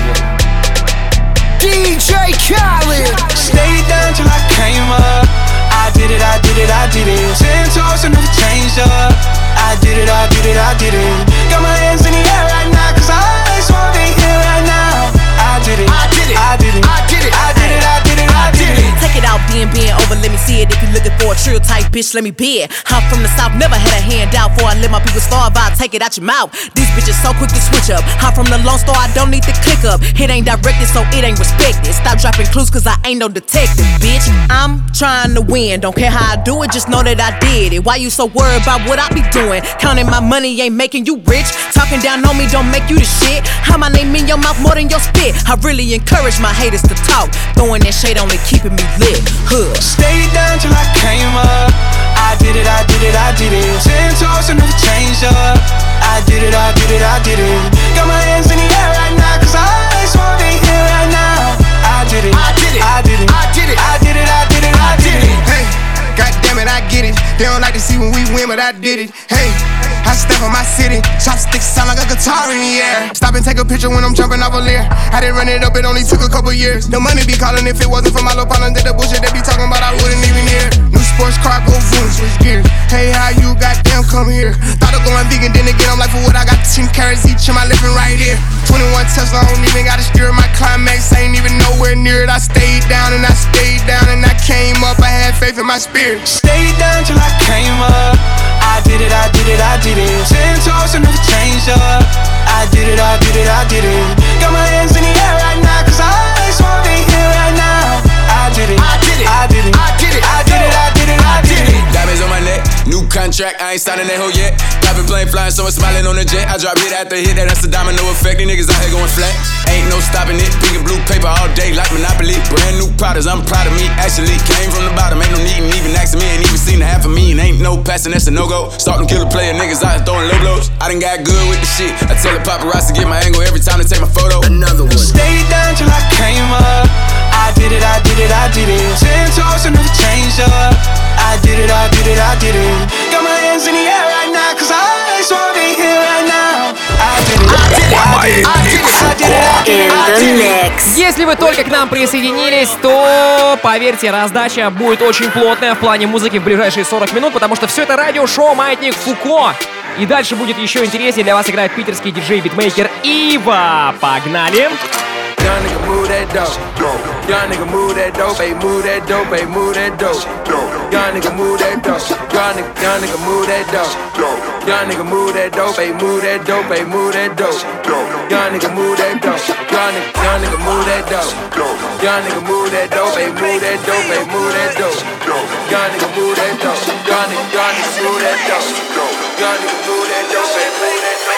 DJ Khaled. Stayed down till I came up. I did it, I did it, I did it. 10 toes and never changed up. I did it, I did it, I did it. Got my hands in the air right now, cause I just wanna be here right now. I did it, I did it, I did it, I did it, I did it, I did it, I did it. Take it out, being over, let me see it. If you're looking for a trill type bitch, let me be it. I'm from the south, never had a handout. Before I let my people starve, I'll take it out your mouth. These bitches so quick to switch up. I'm from the Lone Star, I don't need to click up. It ain't directed, so it ain't respected. Stop dropping clues, cause I ain't no detective, bitch. I'm trying to win, don't care how I do it, just know that I did it. Why you so worried about what I be doing? Counting my money ain't making you rich. Talking down on me don't make you the shit. How my name in your mouth more than your spit. I really encourage my haters to talk. Throwing that shade on it, keeping me lit. Stayed down till I came up. I did it, I did it, I did it. 10 toes and never changed up. I did it, I did it, I did it. Got my hands in the air right now, cause I just wanna be here right now. I did it, I did it, I did it, I did it, I did it, I did it, I did it. Hey, goddamn it, I get it. They don't like to see when we win, but I did it. Hey, I step on my city, chopsticks sound like a guitar in the air. Stop and take a picture when I'm jumping off a Lear. I didn't run it up, it only took a couple years. The money be calling if it wasn't for my little partner. Did the bullshit they be talking about, I wouldn't even hear. New sports car, go boom, switch gears. Hey, how you goddamn come here? Thought of going vegan, then again, I'm like, for what I got 10 carrots each in my living right here. 21 Tesla, I don't even gotta steer my climax, ain't even nowhere near it. I stayed down and I stayed down and I came up, I had faith in my spirit. Stayed down till I came up. I did it, I did it, I did it. 10 toes and never changed up. I did it, I did it, I did it. Got my hands in the air right now, cause I just wanna be here right now. I did it, I did it, I did it, I did it, I did it, I did it, I did it. Diamonds on my neck, new contract, I ain't signing that hoe yet. Private plane flying, someone smiling on the jet. I drop hit after hit, that's a domino effect. These niggas out here going flat. Ain't no stopping it, pink and blue paper all day like Monopoly. Brand new products, I'm proud of me. Actually came from the bottom, ain't no needin' even asking me. Ain't even seen a half of me, and ain't no passing, that's a no-go. Starting killer player, niggas out here throwing low blows. I done got good with the shit. I tell the paparazzi to get my angle every time they take my photo. Another one. Stayed down till I came up. I did it, I did it, I did it. 10 toes and never changed up. I did it, I did it, I did it. Got my hands in the air right now, cause I just wanna be here right now. I did it, I did it, I did it, I did it, I did it, I did it. Если вы только к нам присоединились, то, поверьте, раздача будет очень плотная в плане музыки в ближайшие 40 минут, потому что все это радиошоу «Маятник Фуко». И дальше будет еще интереснее. Для вас играет питерский диджей-битмейкер Ива. Погнали! Young nigga move that dope. Young nigga move that dope. Hey, move that dope. Hey, move that dope. Young nigga move that dope. Young nigga move that dope. Young nigga move that dope. Hey, move that dope. Hey, move that dope. Young nigga move that dope. Young nigga move that dope. Young nigga move that dope. Hey, move that dope. Hey, move that dope. Young nigga move that dope. Young nigga move that dope. Young nigga move that dope. Hey, move that dope.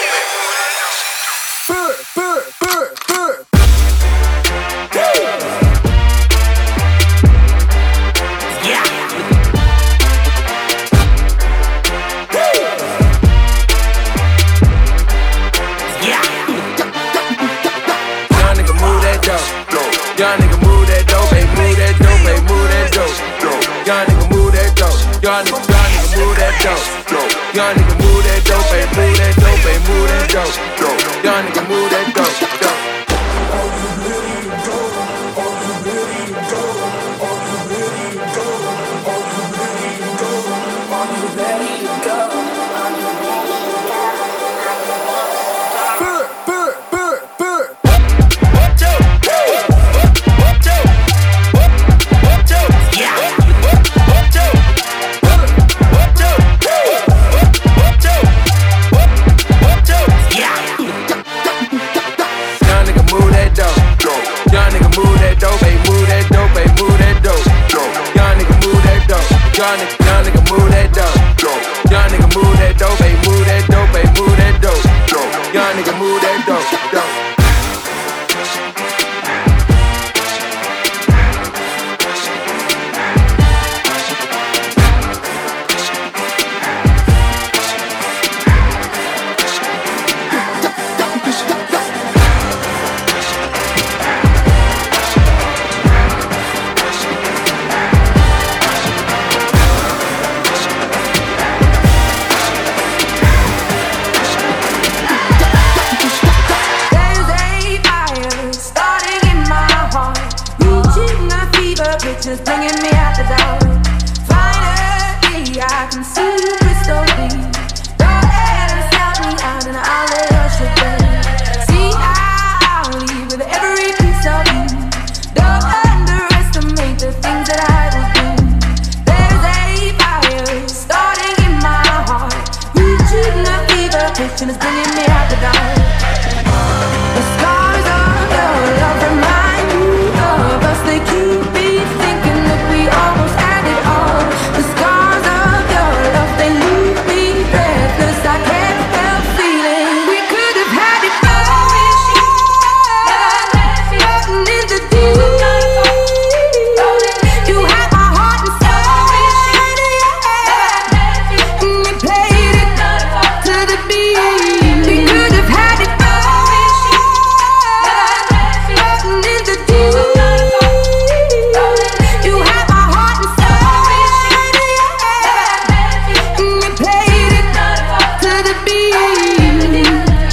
Young nigga move that dope, hey, move that dope, hey, move that dope. Young nigga move that dope. Young nigga move that dope. Young nigga move that dope, hey, move that dope, hey, move that dope. Young nigga move that dope. Young nigga move that dope. Young nigga move that dope, hey, move that dope, hey, move that dope. Young nigga move that dope. me at the dawn. The scars of your love remind me of us. They keep me thinking that we almost had it all. The scars of your love, they leave me breathless. I can't help feeling we could have had it all. Floating in the deep. You had my heart and soul. And you played it to the beat. We could have had it all. Floating in the deep. You had my heart and soul. And you played it to the beat.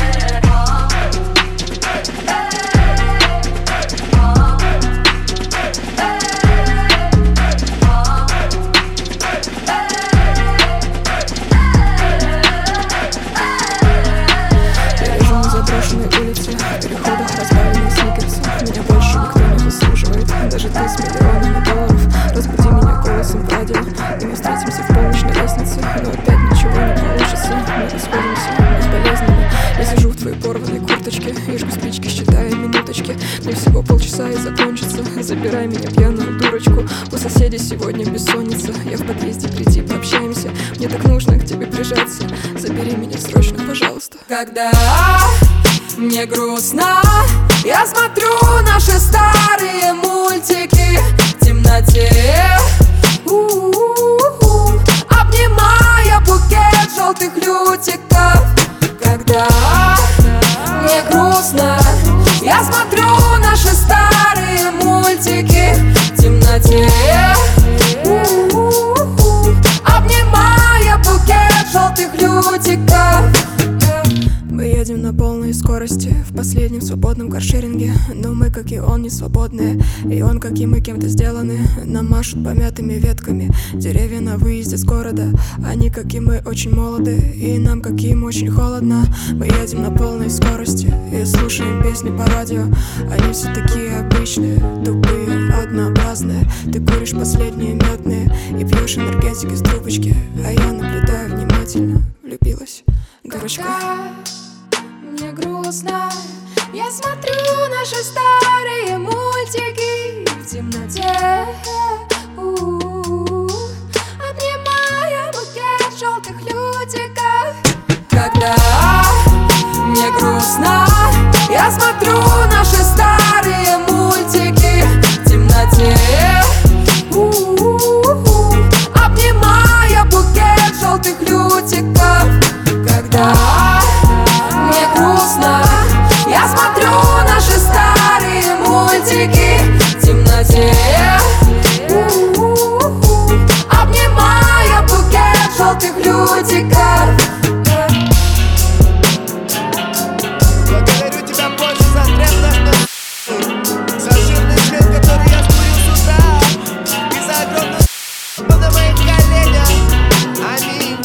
Я лежу на заброшенной улице, переходах разбавленных сникерсов. Меня больше никто не заслуживает, даже ты с миллионами долларов. Разбуди меня голосом в радио, и мы встретимся в полночь на лестнице. Но опять ничего не получится, мы расходимся бесполезными. Я сижу в твоей порванной курточке и жгу спички, считая минуточки. Мне всего полчаса и закончится. Забирай меня, пьяную дурочку. У соседей сегодня бессонница. Я в подъезде, приди, пообщаемся. Мне так нужно к тебе прижаться. Забери меня срочно, пожалуйста. Когда мне грустно, я смотрю наши старые мультики в темноте, обнимая букет желтых лютиков. Когда мне грустно, я смотрю наши старые мультики в темноте, обнимая букет желтых лютиков. Мы едем на полной скорости в последнем свободном каршеринге. Но мы, как и он, не свободные. И он, как и мы, кем-то сделаны. Нам машут помятыми ветками деревья на выезде с города. Они, как и мы, очень молоды. И нам, как и им, очень холодно. Мы едем на полной скорости и слушаем песни по радио. Они все такие обычные, тупые, однообразные. Ты куришь последние мятные и пьешь энергетик из трубочки. А я наблюдаю внимательно, влюбилась, дурочка. Мне грустно, я смотрю наши старые мультики в темноте, обнимая букет желтых лютиков. Когда мне грустно, я смотрю наши старые мультики в темноте, обнимая букет желтых лютиков. Когда мне грустно, я смотрю наши старые мультики в темноте, обнимая букет желтых лютиков. Благодарю тебя больше за треп наш за жирный свет, который я скурил с утра, и за огромную на моих коленях. Аминь.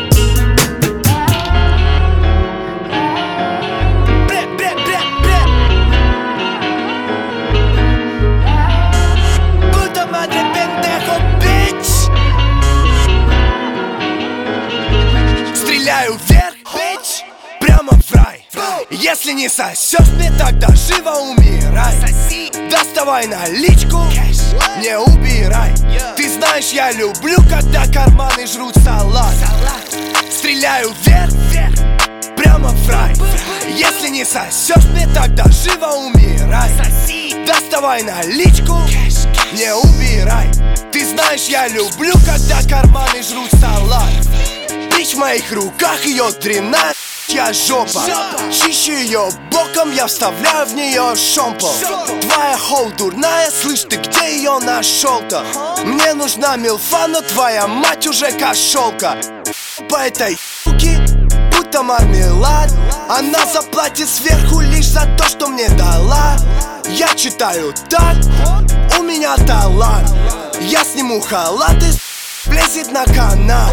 Стреляю вверх, бич, прямо в рай. Если не сосешь мне, тогда живо умирай. Доставай наличку, не убирай. Ты знаешь, я люблю, когда карманы жрут салат. Стреляю вверх, прямо в рай. Если не сосешь мне, тогда живо умирай. Доставай наличку, не убирай. Ты знаешь, я люблю, когда карманы жрут салат. Бич в моих руках, ее дрянная жопа. Чищу ее боком, я вставляю в нее шомпол. Твоя хоу дурная, слышь, ты где ее нашел-то? Мне нужна милфа, но твоя мать уже кошелка. По этой ***ке, будто мармелад. Она заплатит сверху лишь за то, что мне дала. Я читаю так, у меня талант. Я сниму халат и влезет на канал.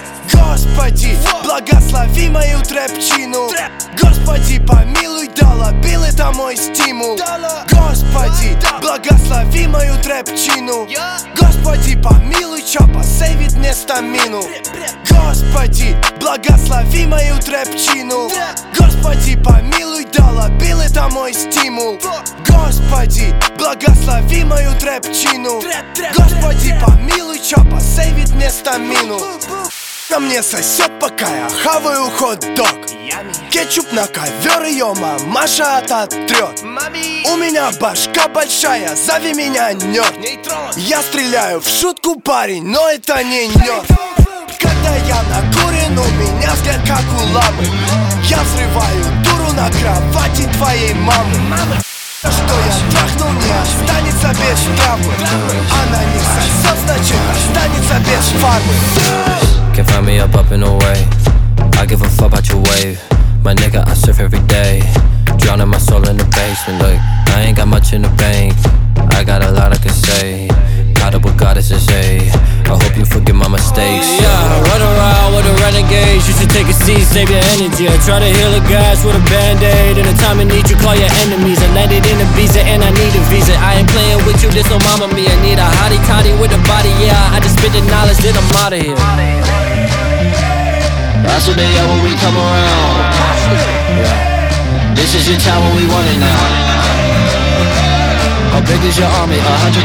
Господи, благослови мою трэпчину. Господи, помилуй, дала бил, это мой стимул. Господи, благослови мою трэпчину. Господи, помилуй, чё посейвит мне стамину. Господи, благослови мою трэпчину. Господи, помилуй, долобил, это мой стимул. Господи, благослови мою трэпчину. Господи, помилуй, чё посейвит мне стамину. На мне сосет, пока я хаваю хот-дог. Кетчуп на ковер, ее мамаша ототрет. У меня башка большая, зови меня нёрд. Я стреляю в шутку, парень, но это не нёрд. Когда я накурен, у меня взгляд как у ламы. Я взрываю дуру на кровати твоей мамы. Что я трахнул, не останется без травмы. Она не сосет, значит останется без фармы. Can't find me up in the way. I give a fuck about your wave. My nigga, I surf every day. Drowning my soul in the basement. Look, I ain't got much in the bank. I got a lot I can say. Caught up with goddesses, ayy. I hope you forgive my mistakes. Yeah, run around with the renegades. You should take a seat, save your energy. I try to heal the gas with a band-aid. In the time of need, you call your enemies. I landed in a visa and I need a visa. I ain't playing with you, this no mama me. I need a hottie toddy with a body, yeah. I just spit the knowledge, then I'm out of here. That's what they are when we come around. Yeah. This is your time when we want it now. How big is your army? 100,000.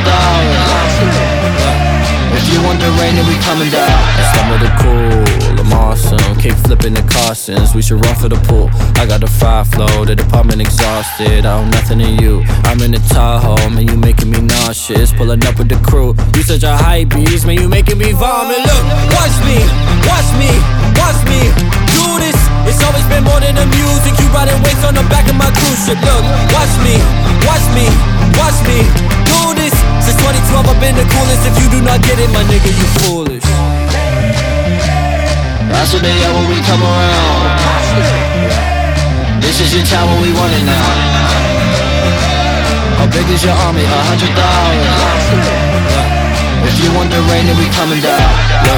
If you want the rain, then we coming down. I stumble the cool, I'm awesome. Kick flipping the Carsons, we should run for the pool. I got the fire flow, the department exhausted. I own nothing in you. I'm in the Tahoe, man, you making me nauseous. Pulling up with the crew, you such a hype beast, man, you making me vomit. Look, watch me, watch me, watch me do this. It's always been more than the music. You riding waves on the back of my cruise ship. Look, watch me, watch me, watch me do this. Since 2012 I've been the coolest. If you do not get it, my nigga, you foolish. That's what they are when we come around. This is your time when we want it now. How big is your army? 100,000. If you want the rain, then we coming down.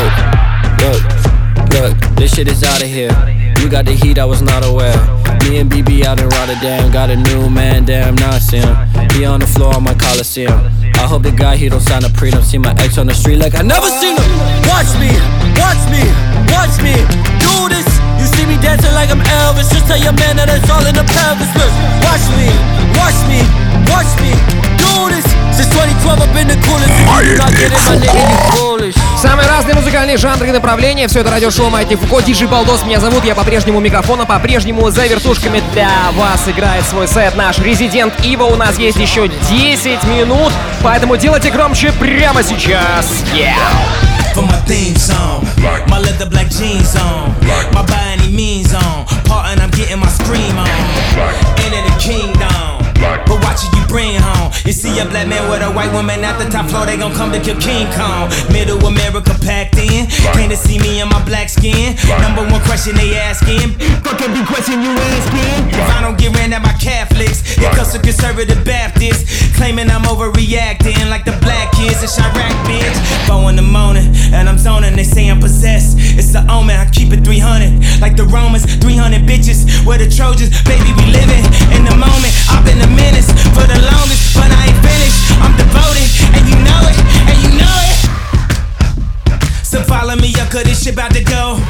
Look, this shit is out of here. You got the heat, I was not aware. Me and BB out in Rotterdam. Got a new man, damn, now I see him. He on the floor on my Coliseum. I hope the guy, he don't sign a prenup. See my ex on the street like I never seen him. Watch me, watch me, watch me do this. You see me dancing like I'm Elvis. Just tell your man that it's all in the pelvis. Look, watch me, watch me, watch me do this. Since 2012 I've been the coolest. If you do not get it, my nigga, you foolish. Самые разные музыкальные жанры и направления. Все это радиошоу Маятник Фуко. Диджей Балдос меня зовут. Я по-прежнему у микрофона. По-прежнему за вертушками для вас играет свой сет наш Resident Evil. У нас есть еще 10 минут. Поэтому делайте громче прямо сейчас. For my theme song, my leather black jeans on, my by any means on, part and I'm getting my scream on, into the kingdom, but watch it you bring home. You see a black man with a white woman at the top floor, they gon' come to kill King Kong. Middle America packed in, came to see me in my black skin. Number one question they asking, fuck every question you asking. If I don't get ran at by Catholics, it comes to conservative Baptists, claiming I'm overreacting like the black kids in Chirac, bitch. 4 in the morning, and I'm zoning, they say I'm possessed. It's the omen, I keep it 300, like the Romans, 300 bitches. We're the Trojans, baby, we living in the moment. I've been a menace for the longest, but I ain't finished. I'm devoted, and you know it, and you know it. So follow me up, cause this shit about to go.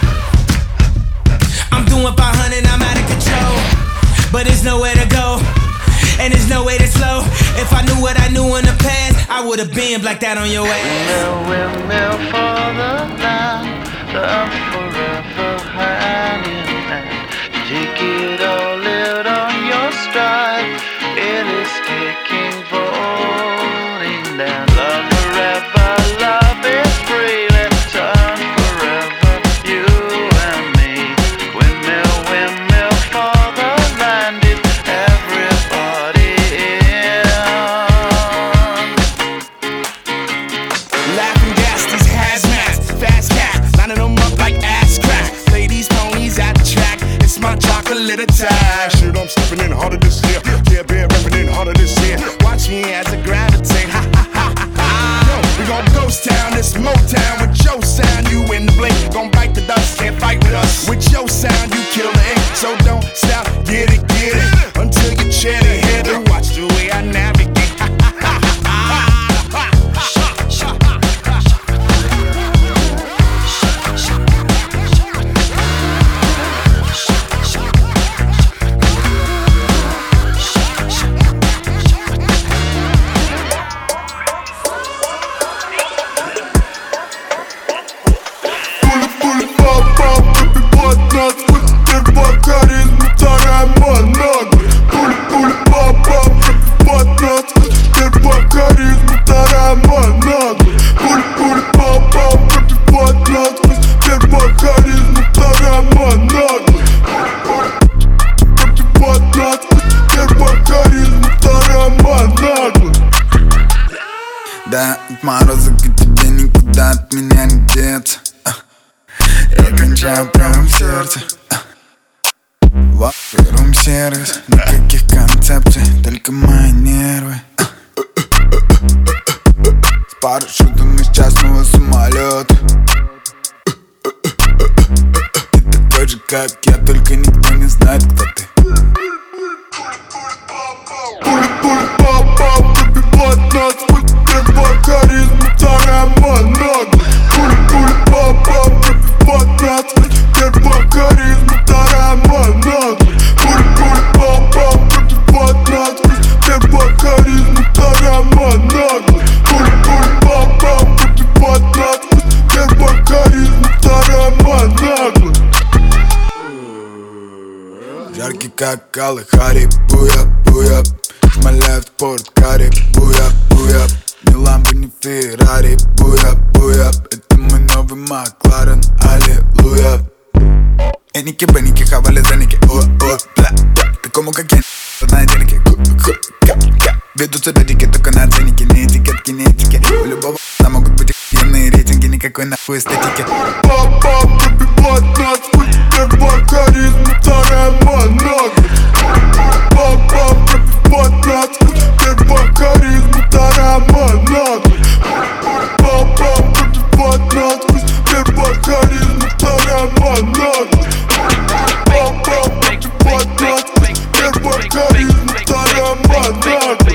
I'm doing 500, I'm out of control, but there's nowhere to go, and there's no way to slow. If I knew what I knew in the past, I would've been like that on your ass. Windmill for the night, love forever hand in hand. Take it all, live on your stride. It is taking, falling down. Love forever, love is free. Let's turn forever, you and me. Windmill, windmill for the land. Is everybody in? Laughing gas, these hazmats, fast cats, lining them up like ass crack. Ladies, ponies at the track, it's my chocolate attack. Shit, I'm stepping in harder this year. Yeah, bear repping in harder this year. Watch me as I gravitate, ha ha ha ha ha. Yo, we gon' ghost town, this Motown with your sound. You in the blink, gon' bite the dust, can't fight with us. With your sound, you kill the ink, so don't stop, get it, until you Рум-сервис, никаких концепций, только мои нервы. С парашютом из частного самолета. Ты такой же, как я, только никто не знает, кто ты. Пуль-пуль-пап-пап, пробивает нас путь. Первая харизма, вторая монада. Пуль-пуль-пап-пап, пробивает нас путь. Первая харизма, вторая монада. Пуль-пуль-пап-пап, пробивает нас путь. Первая харизма, вторая монада. Пуль-пуль-пап-пап, пробивает нас путь. Первая харизма, вторая монада. Жаркий как Калахари, буя-буя. Шмаляют спорткаре, буя-буя. Ни ламбо, ни Феррари, буя-буя. Это мой новый Макларен, аллилуйя. Эники-беники, хавали-зеники, о-о, бля-бля. Такому как я, на денег, ку-ку-ка-ка. Ведутся дядики только на ценники, не этикетки, не этики. У любого там могут быть охуенные рейтинги, никакой нахуй эстетики. Пап-пап, пробивает нас путь. Первая харизма, вторая монада. Пап-пап, пробивает нас путь. Первая харизма, вторая монада. Пап-пап, пробивает нас путь. Первая харизма, вторая монада. Пап-пап, пробивает нас путь. Первая харизма, вторая монада.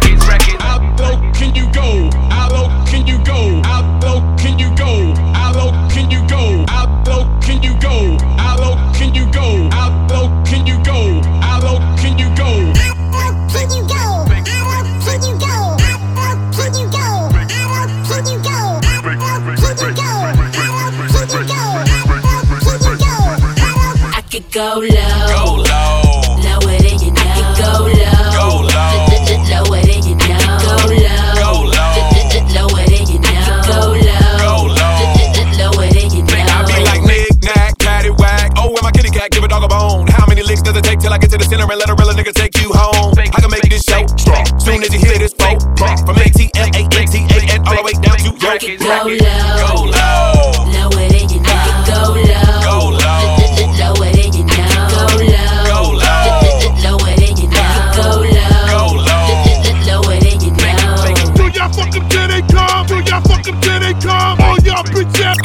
How low can you go? How low can you go? How low can you go? How low can you go? How low can you go? How low can you go? How low can you go? How low can you go? Can you go? How low can you go? How low can you go? How low can you go? How low can you go? How low can you go? How low can you go? I could go low, lower than you know. I could go low, lower than you know. Go low, lower than you know. Go low, lower than you know. I be like knick-knack, paddywhack. Oh, where my kitty cat? Give a dog a bone. How many licks does it take till I get to the center and let a real nigga take you home? I can make this show strong. Soon as you hear this boat, from ATLANTA all the way down to Yankee. Go low, lower than you know. Go low, lower than you know. Go low, lower than you know. Go low, lower than you know. Do y'all fuck them till they come? Do y'all fuck them till they come? All y'all bitches.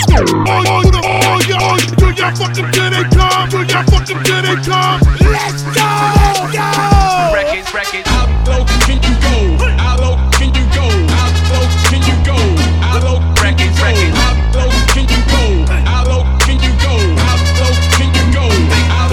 All y'all. Do y'all fuck them till they come? Do y'all fuck them till they come? Let's go! Records. How low can you go? How low can you go? How low can you go? How low can you go? How low can you go? How low can you go? How low can you go? How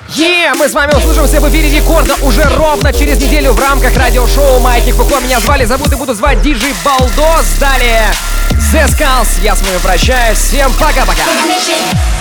Мы с вами услышимся в эфире Рекорда уже ровно через неделю в рамках радиошоу «Маятник ФК». Меня зовут и буду звать диджей Балдос. Далее The Skulls. Я с вами прощаюсь. Всем пока-пока.